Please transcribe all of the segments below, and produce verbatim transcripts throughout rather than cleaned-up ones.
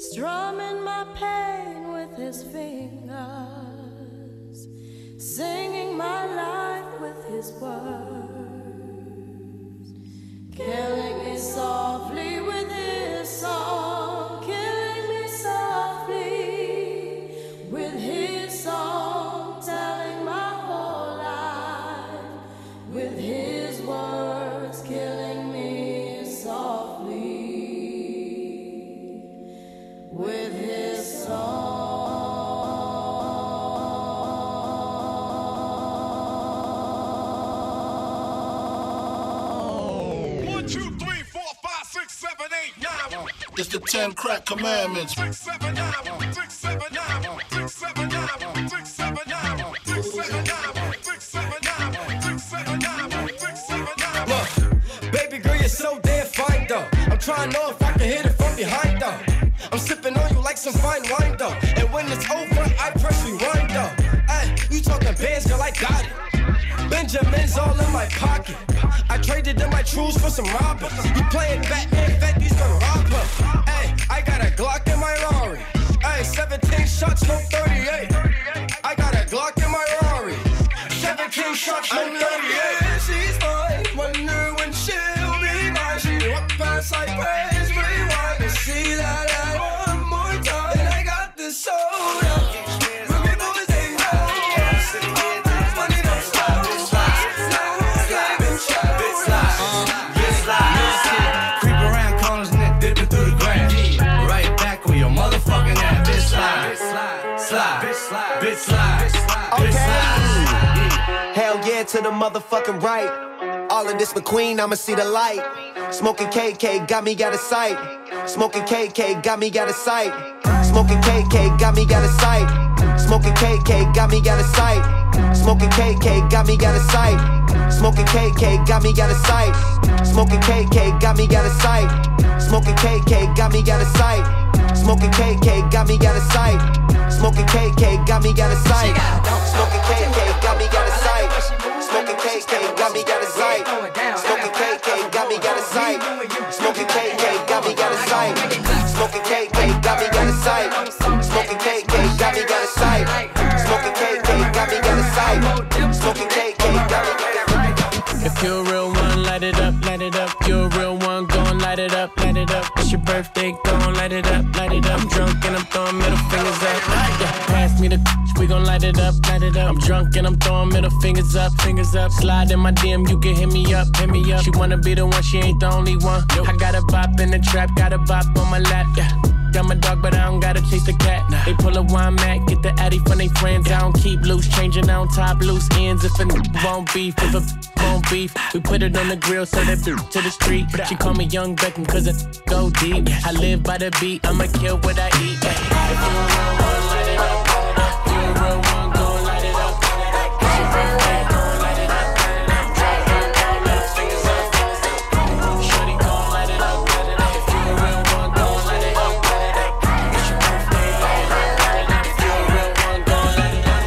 strumming my pain with his fingers, singing my life with his words, killing me softly with his song, killing me softly with his song, telling my whole life with his words, killing me softly with his song. One, two, three, four, five, six, seven, eight, nine. It's the ten crack commandments. Six, seven, nine, six, seven, nine, six, seven, nine, six, seven, nine, six, seven, nine, six, seven, nine, six, seven, nine, six, seven, nine. Look, baby girl, you're so damn fine though. I'm trying to know if I can hit it from behind though. I'm sipping on you like some fine wine though. And when it's over, I press rewind though. Ay, you talking bands, girl, I got it. Benjamin's all in my pocket. I traded in my trues for some robbers. You playing Batman, Fetty's gonna rob her. Ay, I got a Glock in my Rari. Ay, seventeen shots, no thirty-eight. I got a Glock in my Rari. seventeen shots, no thirty-eight. Yeah, she's fine. Wonder when she'll be mine. She walk past like praise, rewind and see that I one more time. And I got this soda. Rookie boys, they know. Money don't stop. Bitch slide, bitch slide, bitch slide, bitch slide. Creep around corners and then dipping through the grass. Right back with your motherfucking ass. Bitch slide, slide, bitch slide, bitch slide, bitch slide. Hell yeah to the motherfucking right. All of this McQueen, I'ma see the light. Smoking K K, got me got a sight. Smoking K K, got me got a sight. Smoking K K, got me got a sight. Smoking K K, got me got a sight. Smoking K K, got me got a sight. Smoking K K, got me got a sight. Smoking K K, got me got a sight. Smoking K K, got me got a sight. Smoking K K, got me got a sight. Smoking K K, got me got a sight. Smoking K K, got me got a sight. Smoking K K, got me got a sight. Smoking K K, got me got a sight. Smoking K K, got me got a sight. Smoking K K, got me got a sight. Smoking K K, got me got a sight. Smoking K K, got me got a sight. Smoking K K, got me got a sight. If you're a real one, light it up, light it up. You're a real one, gon' light it up, light it up. It's your birthday, gon' light it up, light it up. I'm drunk and I'm throwing middle fingers up. Yeah, pass me the we gon' light it up, light it up. I'm drunk and I'm throwing middle fingers up, fingers up. Slide in my D M, you can hit me up, hit me up. She wanna be the one, she ain't the only one. I got a bop in the trap, got a bop on my lap, yeah. I'm a dog, but I don't gotta chase the cat. They pull a wine mat, get the addy from they friends. I don't keep loose, changing on top loose ends. If a n won't beef, if a won't beef, we put it on the grill, so that to the street. She call me Young Beckham, cause it go deep. I live by the beat, I'ma kill what I eat. If you a real one, light it up. If you a real one, go light it up. It's your birthday, go light it up. Drop it, all little fingers up. Shorty, go light it up. If you a real one, go light it up. It's your birthday, go light it up. If you a real one, go light it up.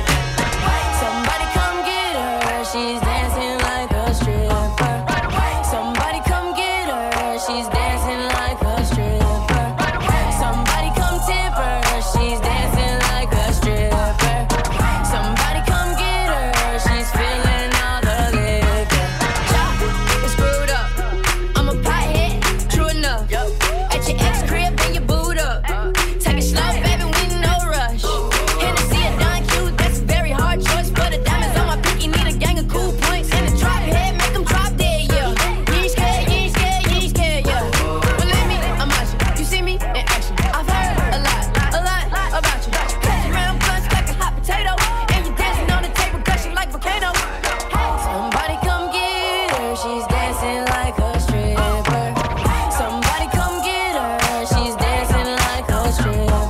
Somebody come get her, she's dancing like a stripper. Somebody come get her, she's dancing like a stripper. Somebody come tip her, she's dancing like a stripper. Somebody come get her, she's feeling all the liquor. Chop, it's screwed up. I'm a pothead, true enough. At your ex crib, bring your boot up. Take it slow, baby, we no rush. Hennessy a Don Q, that's a very hard choice. But the diamonds on my pinky need a gang of cool points. And the drop head, make them drop dead, yeah. You ain't scared, you ain't scared, you ain't scared, yeah. Believe me, I'm watching. You see me in action. I've heard a lot, a lot about you. Catch around guns like a hot potato. And you dancing on the table, gushing like volcano. Somebody come get her, she's dancing like a stripper. Somebody come get her, she's dancing like a stripper.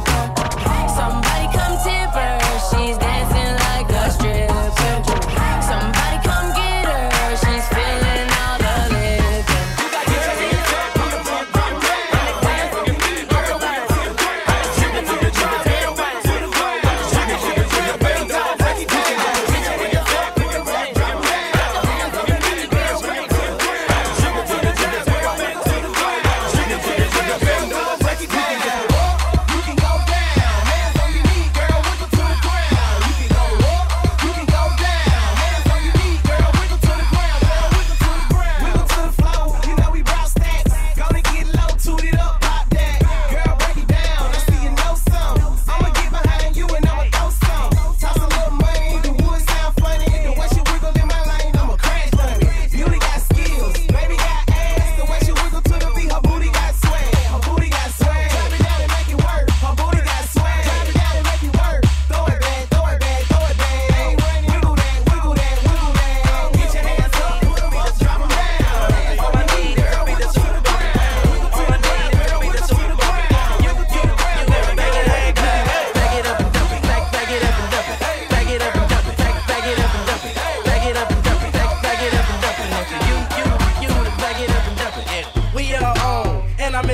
Somebody come tip her, she's dancing like a stripper. Somebody come get her, she's feeling all the liquor.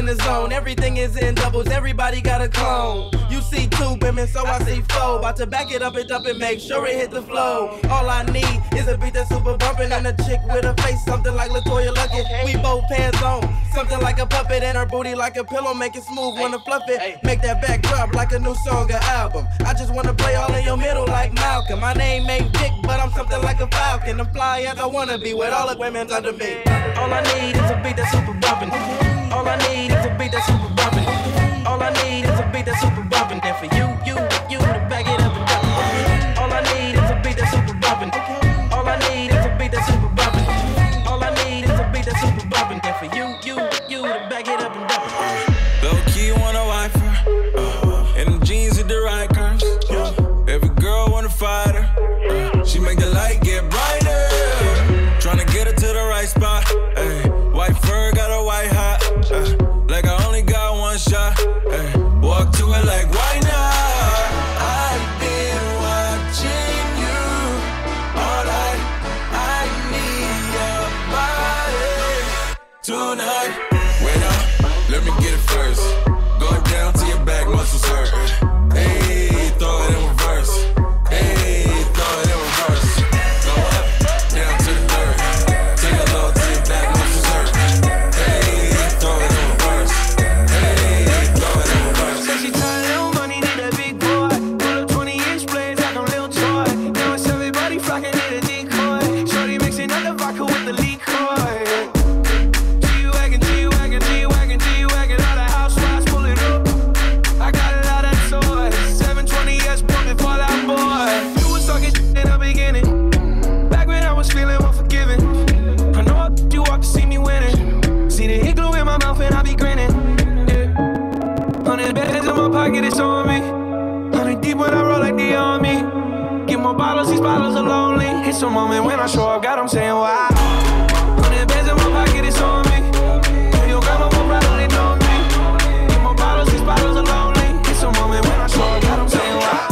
in the zone. Everything is in doubles, everybody got a clone. You see two women, so I see four. About to back it up and dump it, make sure it hit the flow. All I need is a beat that's super bumpin' and a chick with a face something like LaToya Luckett. We both pants on, something like a puppet, and her booty like a pillow, make it smooth, wanna fluff it. Make that back drop like a new song or album. I just wanna play all in your middle like Malcolm. My name ain't Dick, but I'm something like a falcon. I'm fly as I wanna be with all the women under me. All I need is a beat that's super bumpin'. All I need is a beat that's super bumpin'. All I need is a beat that's super bumpin'. Then for you, you, you to back it up and dump it. All I need is a beat that's super bumpin'. All I need is a beat that's super bumpin'. All I need is a beat that's super bumpin'. Then for you, you, you to back it up and dump it. Low key wanna wife her, uh, and them jeans with the right curves. Uh, every girl wanna fight her. Uh, she make the light get brighter. Tryna get her to the right spot. Ay, white fur got a white hot. Uh, like I only got one shot. Ay, walk to it like why not? I've been watching you all night. I need your body tonight. Wait up, let me get it first. Go down to your back muscles hurt. Hey, throw it in reverse. Hey, throw it in reverse. Go up, down to the dirt. Take a low to your back muscles hurt. Hey, throw it in reverse. Hey, throw it in reverse. Said she tired of little money, need a big boy. Pull up twenty inch blades like I'm Lil Troy. Now it's everybody flocking in a decoy. Shorty mixing up the vodka with the liquor. G-Wagon, G-Wagon, G-Wagon, G-Wagon. All the housewives pull it up. I got a lot of toys. seven twenty S pumping for that boy. You was talking shit in the beginning. Back when I was feeling unforgiving. I know I you walk to see me winning. See the hit glue in my mouth and I be grinning. Yeah. Hundred bands in my pocket, it's on me. Hundred deep when I roll like the army. Get more bottles, these bottles are lonely. It's a moment when I show up, God, I'm saying wow. Hundred bands in my pocket, it's on me. If your grandma will probably know me. Get more bottles, these bottles are lonely. It's a moment when I show up, God, I'm saying wow.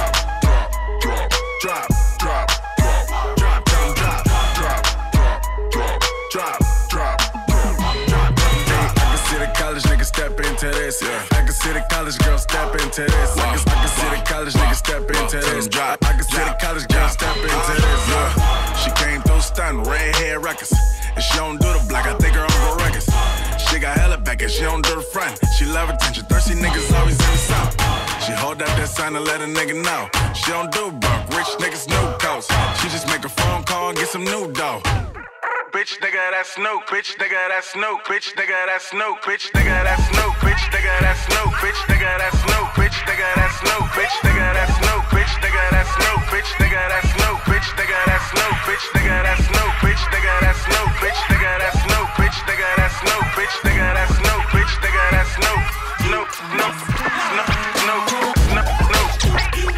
Drop, drop, drop, drop, drop, drop, drop, drop, drop, drop, drop, drop. I can see the college nigga step into this. I can see the college girl step into this. I can, I can see the college nigga step into this. I can see the college girl step into this. Yeah. She came through stunning, red hair records. And she don't do the black, I think her on go records. She got hella back and she don't do the front. She love attention, thirsty niggas always in the south. She hold up that sign and let a nigga know. She don't do buck, rich niggas new coast. She just make a phone call and get some new dough. Bitch nigga, that's Snoop. Bitch nigga, that's Snoop. Bitch nigga, that's Snoop. Bitch nigga, that's Snoop. Bitch nigga, that's Snoop. Bitch nigga, that's Snoop. Bitch nigga, that's Snoop. Bitch nigga, that's Snoop. Bitch nigga, that's Snoop. Bitch nigga, that's Snoop. Bitch nigga, that's Snoop. Bitch nigga, that's Snoop. Bitch nigga, that's Snoop. Bitch nigga, that's Snoop. Bitch nigga, that's Snoop. Bitch nigga, that's Snoop. Bitch nigga, that's Snoop. Snoop, Snoop, Snoop, Snoop, Snoop, Snoop,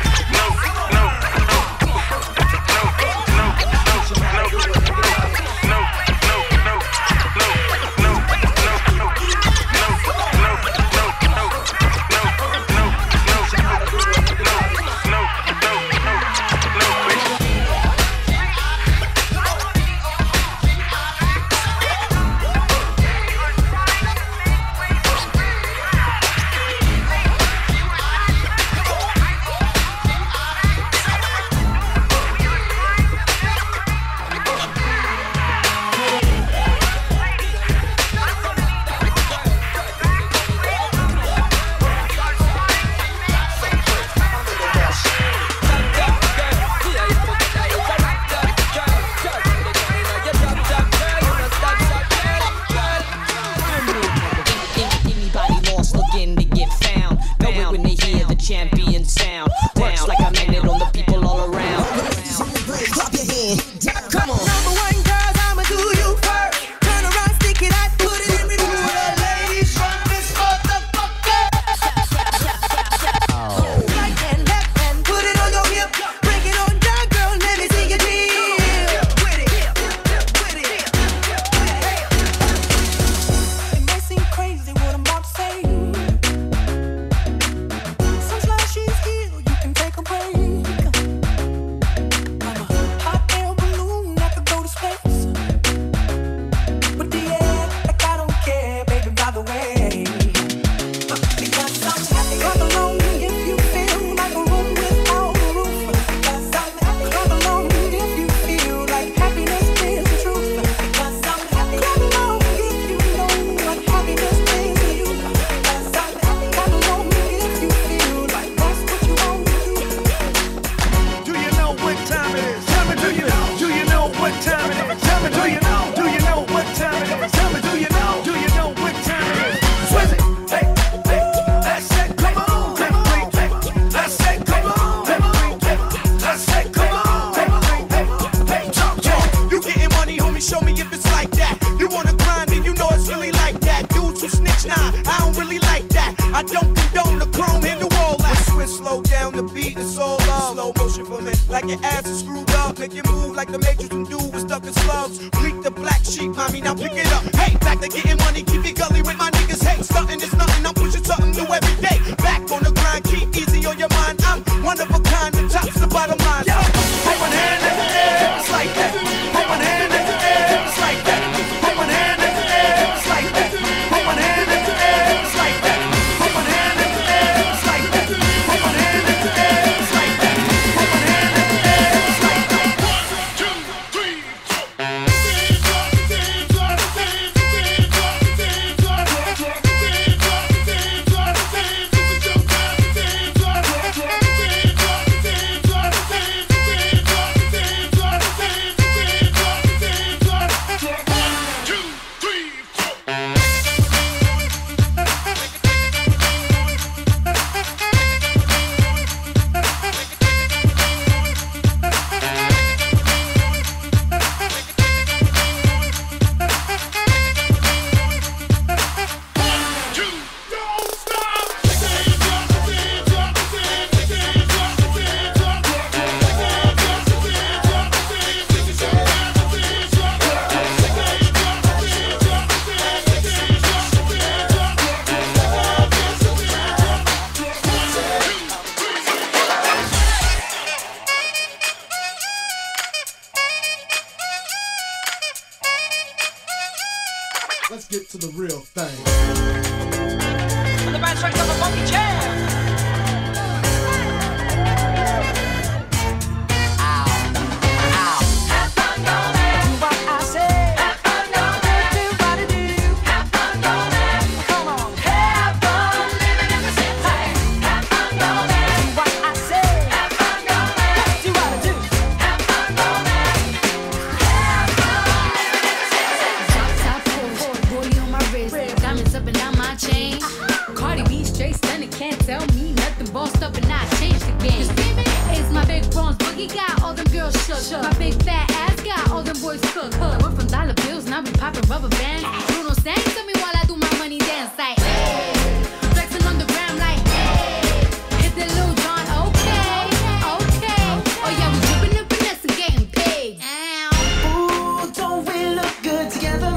I don't condone the chrome, handle all that. Switch, slow down the beat, it's all love. Slow motion for me, like your ass is screwed up. Make you move like the Matrix and do was stuck in slugs. Bleak the black sheep, mommy, now pick it up. Hey, back to getting money, keep it gully with my niggas. Hey, stunting is nothing, I'm pushing something new every day. Back on the grind, keep easy on your mind. I'm one of a kind, the top's the bottom line. Yo, put one hand in the air, it's like that. Put one hand in the air, it's like that. Put one hand in the air, it's like that. Put one hand in the air, it's like that. Put one hand in the air, it's like that. Put one hand in the air, it's like that. Put one hand in the air, it's like that. One, two, three, Let's get to the real thing. The band strikes up a funky jam. My big fat ass got all them boys cooked. We're from dollar bills, now we poppin' rubber bands. Bruno sang to me while I do my money dance like, hey. Flexing on the gram like, hey. Hit the Lil Jon, okay, okay. Oh yeah, we drippin' and finesse and getting paid. Ooh, don't we look good together?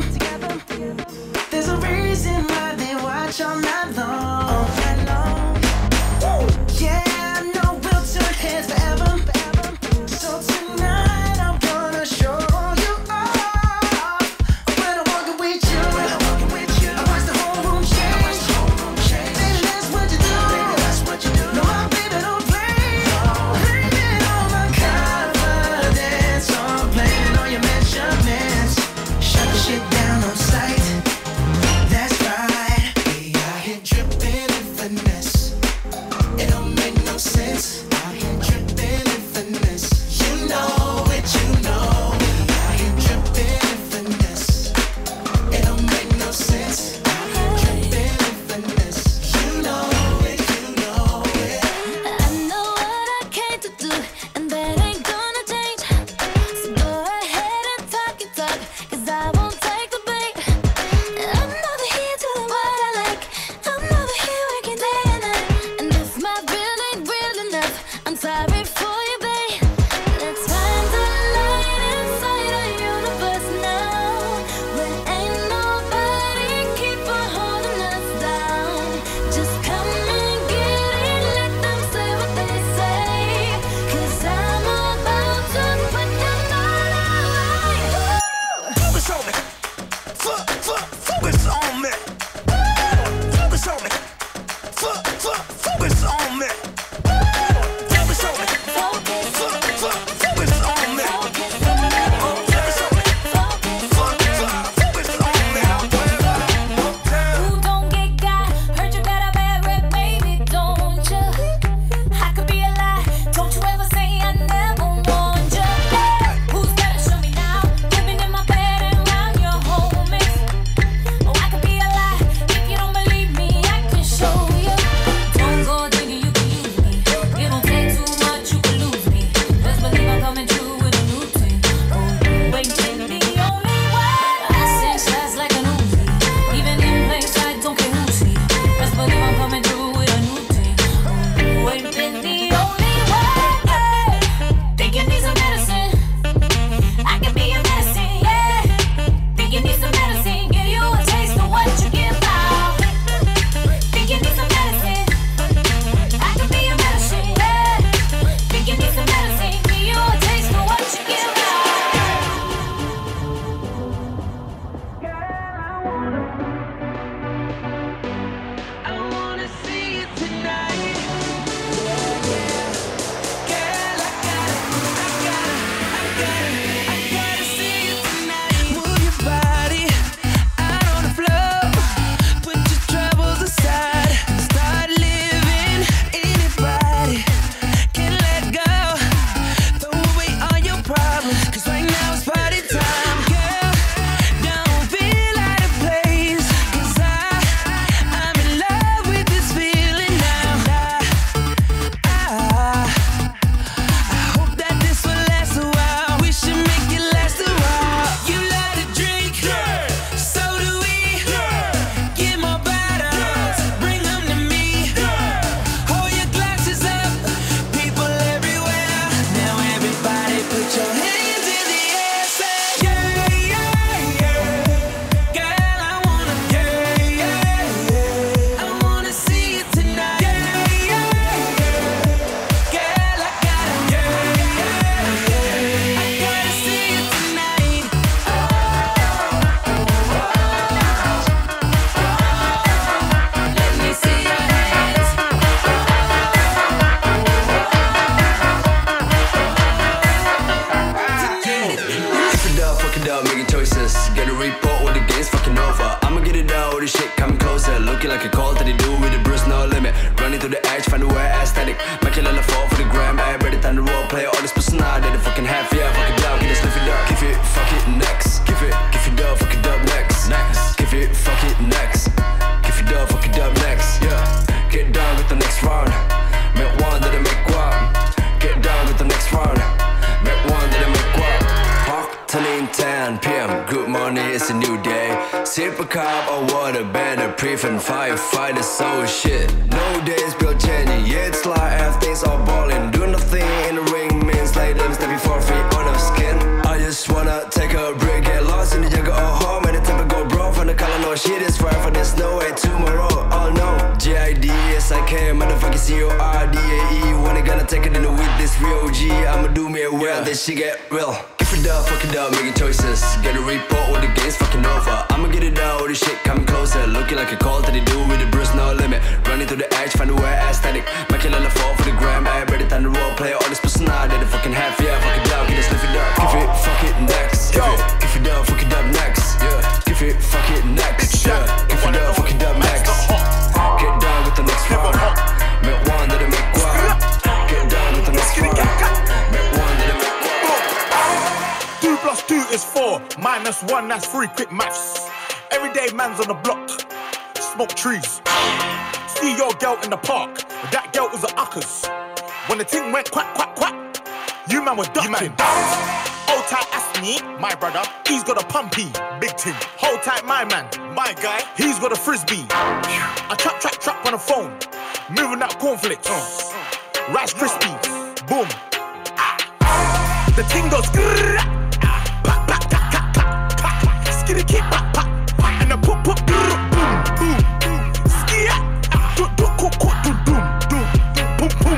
There's a reason why they watch all night long. All night long. Yeah, I know we'll turn heads forever. So tonight I'm gonna show you off. When I'm walking with you, when I'm walking with you, I watch the whole room change. Baby, that's what you do. Baby, that's what you do. No, my baby don't play. Blaming all my confidence, I'm blaming all your measurements. Shut the shit down on sight. That's right. We out here dripping in finesse. It don't make no sense. Out here dripping in finesse. You know it, you know it. Out here dripping in finesse. It don't make no sense. Out here dripping in finesse. You know it, you know it. I know what I came to do, and that ain't gonna change. So go ahead and talk your talk, 'cause I won't take the bait. I'm over here doing what I like. I'm over here working day and night. And if my bill ain't real enough, I'm sorry for you, babe. Let's find the light inside our universe now, where ain't nobody keep on holding us down. Just come and get it, let them say what they say, 'cause I'm about to put them all away. Focus on me. Fuck, fuck, focus on me. Focus on me. Fuck, fuck, focus on me. Focus on me. Fuck, fuck, focus on me. Focus on me. Fuck, fuck, focus on me. Ooh, don't get got. Heard you got a bad rep, baby, don't ya? I could be a lie. Don't you ever say I never warned ya. Who's gotta show me now? Living in my bed and around your homies. this shit coming closer. Looking like a call that they do with the Bruce, no limit. Running through the edge, find a way aesthetic. Make it fall for the gram, I ready time to role play. All this personality, they fucking half, yeah, fuck it down, get this lift it up. Give it, fuck it, next. Give it, give it up, fuck it up, next. Next. Give it, fuck it, next. Give it up, fuck it up, next. Yeah. Get down with the next round. Make one that I make one. Get down with the next round. Make one that I make one. Park turning ten p.m. Good morning, it's a new day. Sip a cup of water, better prevent firefighter, so shit. No days built changing, yeah, it's like everything's all balling. Do nothing in the ring means like them stepping for free on the skin. I just wanna take a break, get lost in the jungle or home, and the temper go bro from the color, no shit is forever, there's no way tomorrow. Oh no, G I D S I K, motherfucking C O R D A E. When I gonna take it in the with this real G, I'ma do me a well, yeah. This shit get real. Give it up, fuck it up, making choices. Get a report with the game's fucking over. I'ma get it out, this shit coming closer. Looking like a call that they do with the Bruce, no limit. Running through the edge, find a way aesthetic. Make it fall for the gram, I ready time to role play. All this personality, they fucking half, yeah, fuck it down, get this lift it up. Give it, fuck it, next. Give it, give it up, fuck it up, next. Yeah, give it, fuck it, next. Yeah, give it up, fuck it up, next. Get down with the next round. Make one that I make one. Get down with the next round. Make one that I make one. Two plus two is four, minus one, that's three, quick maths. Everyday man's on the block, smoke trees. See your girl in the park, that girl was a uckers. When the thing went quack, quack, quack, you man were ducking. Hold tight, ask me, my brother, he's got a pumpy, big thing. Hold tight, my man, my guy, he's got a frisbee. I trap, trap, trap on the phone, moving that cornflakes. Uh, Rice Krispies, boom. The thing goes grrrr, pop, pop, tap, tap, tap, pop. Skitty keep pop, pop, and the pop, pop, grrrr, boom, boom, boom. Skia, do, do, cook, cook, do, do, do, boom, boom.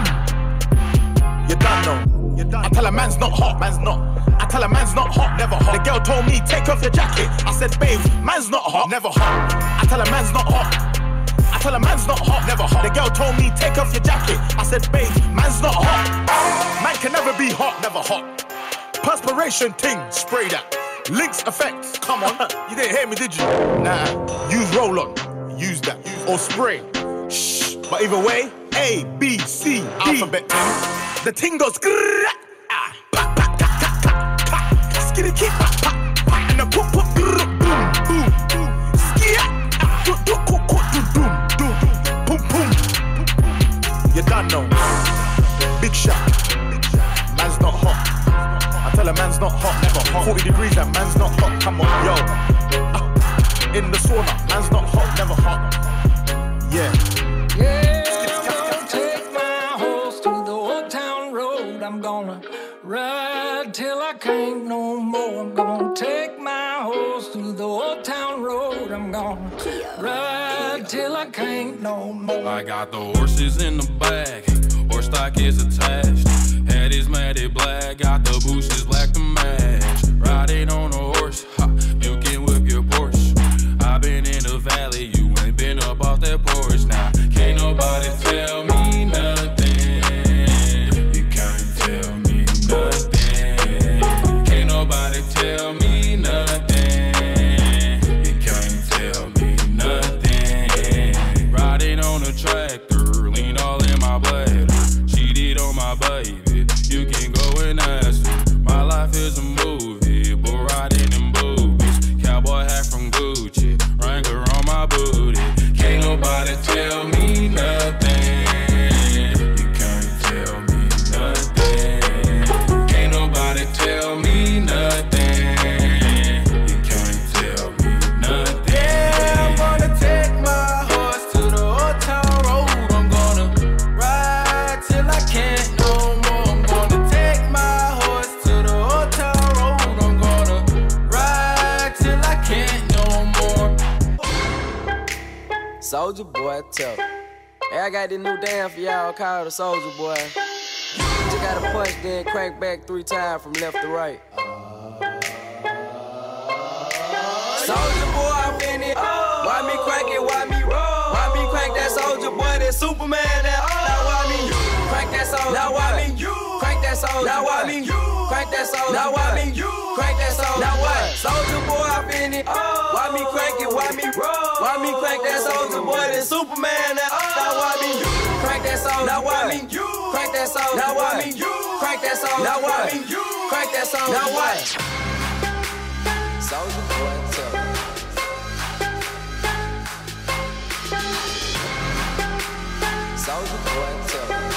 You done know, you done. I tell a man's not hot, man's not. I tell a man's not hot, never hot. The girl told me take off your jacket. I said, babe, man's not hot, never hot. I tell a man's not hot. I tell a man's not hot, never hot. The girl told me take off your jacket. I said, babe, man's not hot. Man can never be hot, never hot. Perspiration ting, spray that. Lynx effect, come on. You didn't hear me, did you? Nah, use roll-on, use that. Or spray, shh. But either way, A, B, C, D. Alphabet ting. The ting goes grrrr, ah, pa, pa, ta, ta, ta, ta. Skitty keep, pa, pa, pa. And the poop, poop, grrrr, boom, boom, boom. Skia, ah, do, do, cook, cook, do, doom, doom, boom, boom. You done know. Big shot, man's not hot. I tell a man's not hot, never hot. forty degrees, that man's not hot, come on, yo. Uh, in the sauna, man's not hot, never hot. Yeah. Yeah, I'm gonna take my horse to the old town road. I'm gonna ride till I can't no more. I'm gonna take my horse to the old town road. I'm gonna ride till I can't no more. I got the horses in the bag, horse stock is attached. Head is matted black, got the bushes black to match. Riding on a horse, ha, you can whip your Porsche. I've been in the valley, you ain't been up off that porch. Now, can't nobody tell me nothing. You can't tell me nothing. Can't nobody tell me nothing. You can't tell me nothing. Riding on a tractor, lean all in my bladder. Cheated on my baby, you can go and ask her. My life is a movie, but riding in boobies. Cowboy hat from Gucci, Wrangler on my booty. Can't nobody tell me nothing. You can't tell me nothing. Can't nobody tell me nothing. You can't tell me nothing. Yeah, I'm gonna take my horse to the old town road. I'm gonna ride till I can't no more. I'm gonna take my horse to the old town road. I'm gonna ride till I can't no more. Soldier Boy, tell. Hey, I got this new dance for y'all called the Soldier Boy. You just gotta punch, then crank back three times from left to right. Soldier Boy, I'm in it. Why me crank it? Why me roll? Why me crank that Soldier Boy? That Superman, that. Now why me crank that Soldier? Now why me crank that Soldier? Now why me Crank that soul. Now why me? You. Crank that soul. Now what? Soldier boy, I been it. Oh. Why me crank it? Why me roll? Why me crank that soldier boy? Then Superman. That. Oh. Now why me? You. Crank that soul. Now why me? You. Crank that soul. Now why me? You. Crank that soul. Now why me? You. Crank that soul. Now what? Soldier boy, tell me. Soldier boy, tell me.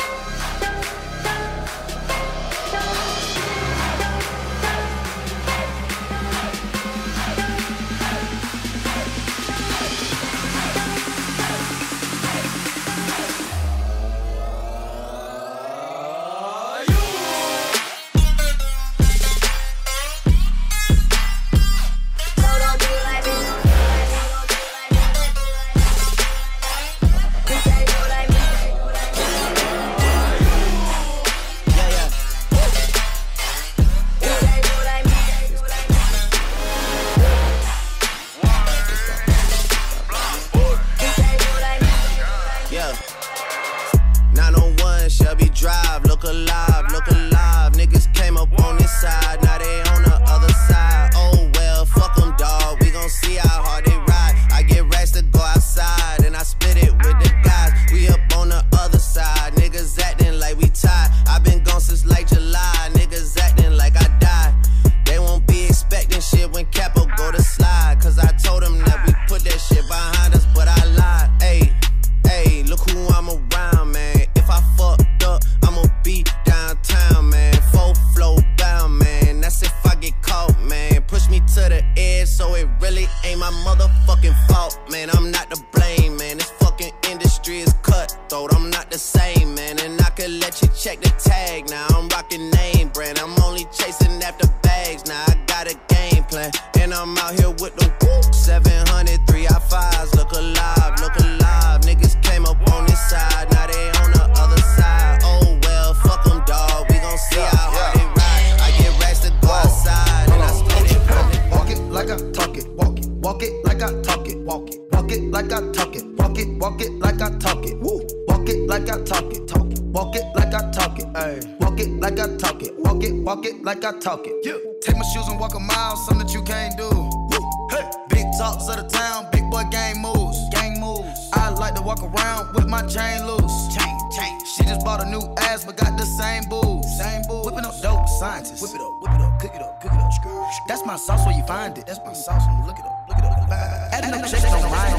Like I talk it. Yeah. Take my shoes and walk a mile, something that you can't do. Woo. Hey. Big talks of the town, big boy gang moves. Gang moves. I like to walk around with my chain loose. Chain, chain. She just bought a new ass, but got the same booze. Same booze. Whipping up dope scientists. Whip it up, whip it up, cook it up, cook it up. That's my sauce where you find it. That's my sauce when you look it up, look it up. Adding up checks on mine.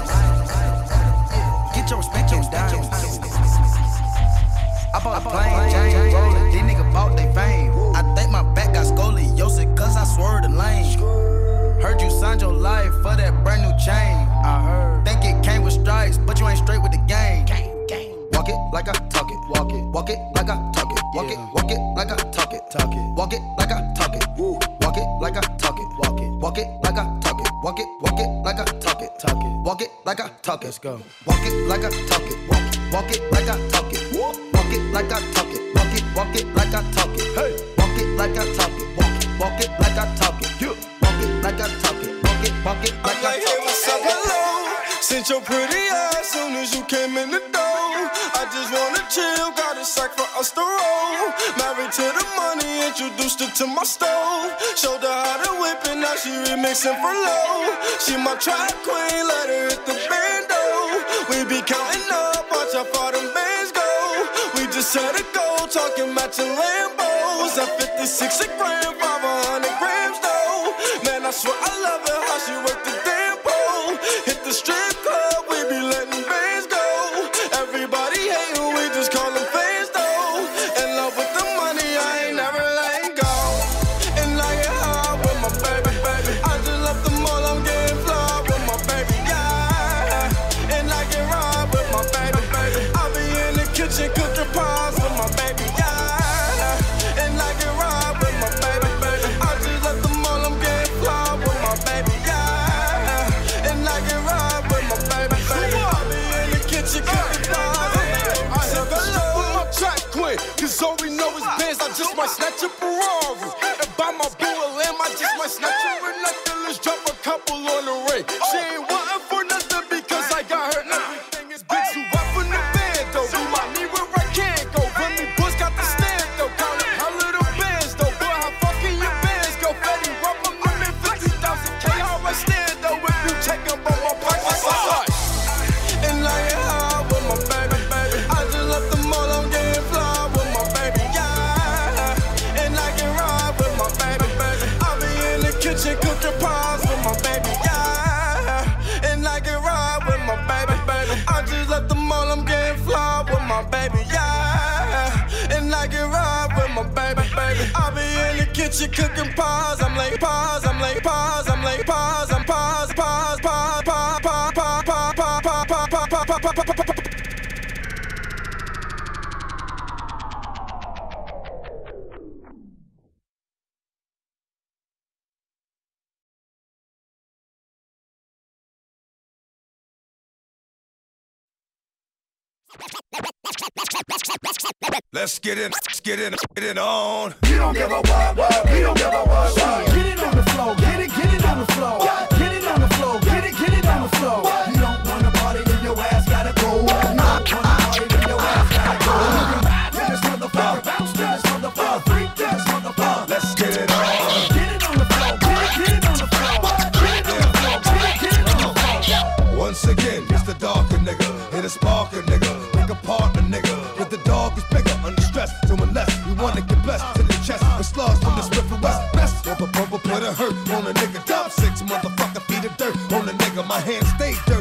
Get your respect on down. I bought a plain Jane rolling. These niggas bought they fame. I think my back got scoliosis cause I swerved the lane. Heard you signed your life for that brand new chain. I heard. Think it came with stripes, but you ain't straight with the game. Walk it like I talk it. Walk it. Walk it like I talk it. Walk it. Walk it like I talk it. Talk it. Walk it like I talk it. Walk it like I talk it. Walk it. Walk it like I talk it. Walk it. Walk it like I talk it. Talk it. Walk it like I talk it. Let's go. Walk it like I talk it. Walk it. Walk it like I talk it. Walk it like I talk it. Walk it. Walk it like I talk it. Hey. Walk it like I talk it. Walk it. Walk it like I talk it. You. Walk it like I talk it. Walk it. Walk it like I talk it. Hey, what's up? Hello. Since your pretty ass soon as you came in the door. I just wanna chill, got a sack for us to roll. Married to the money, introduced her to my stove. Showed her how to whip it, now she remixing for low. She my track queen, let her hit the bando. We be counting up, watch how far them bands go. We just had to go, talking matching Lambos. At fifty-six a gram, five hundred grams though. Man, I swear I love her, how she worked the damn pole. Hit the strip club, we be letting bands go. Everybody hatin', we just call them fans though. In love with the money, I ain't never letting go. And I get high with my baby, baby. I just left the mall, I'm getting fly with my baby, yeah. And I get ride with my baby, baby. I be in the kitchen cooking pies with my baby, yeah. And I get ride with my baby, baby. I just left the mall, I'm getting fly with my baby, yeah. And I get ride with my baby, baby. I be in the kitchen cooking pies. I said hello with my track queen, cause all we know is Benz. I just might snatch a Ferrari and buy my boo a lamb. I just might snatch her a necklace, drop a couple on the ring. She ain't wantin' for nothing because I got her everything is big. So up in the bed though, remind me where I can't go. When me boys got the stand though, counting how little bands She cooking pies, I'm like pies, I'm like pies, I'm like pies, I'm pies, pies, pies, pies, pies, pies, pies, pies, pies, pies, pies, pies, pies, pies, pies. Let's get in, let's get in, get it on. You don't give a what, what, we don't give a what, what. Get it on the floor, get it, get it on the floor. Get it on the floor, get it, get it on the floor. You don't wanna party, then your ass gotta go. You don't wanna party, then your ass gotta go. To this motherfucker, bounce to this motherfucker, freak to this motherfucker. Let's get it on. Get it on the floor, get it, get it on the floor. Get it on the floor, get it, get it on the floor. Once again, it's the darker nigga, hit a sparker nigga, pick a partner nigga. But the dog is bigger, under stress, to unless you wanna get blessed to the chest. With slugs from the Smith and West, best of a bubble put a hurt on a nigga. Top six motherfucker, feet of dirt on a nigga. My hands stay dirty.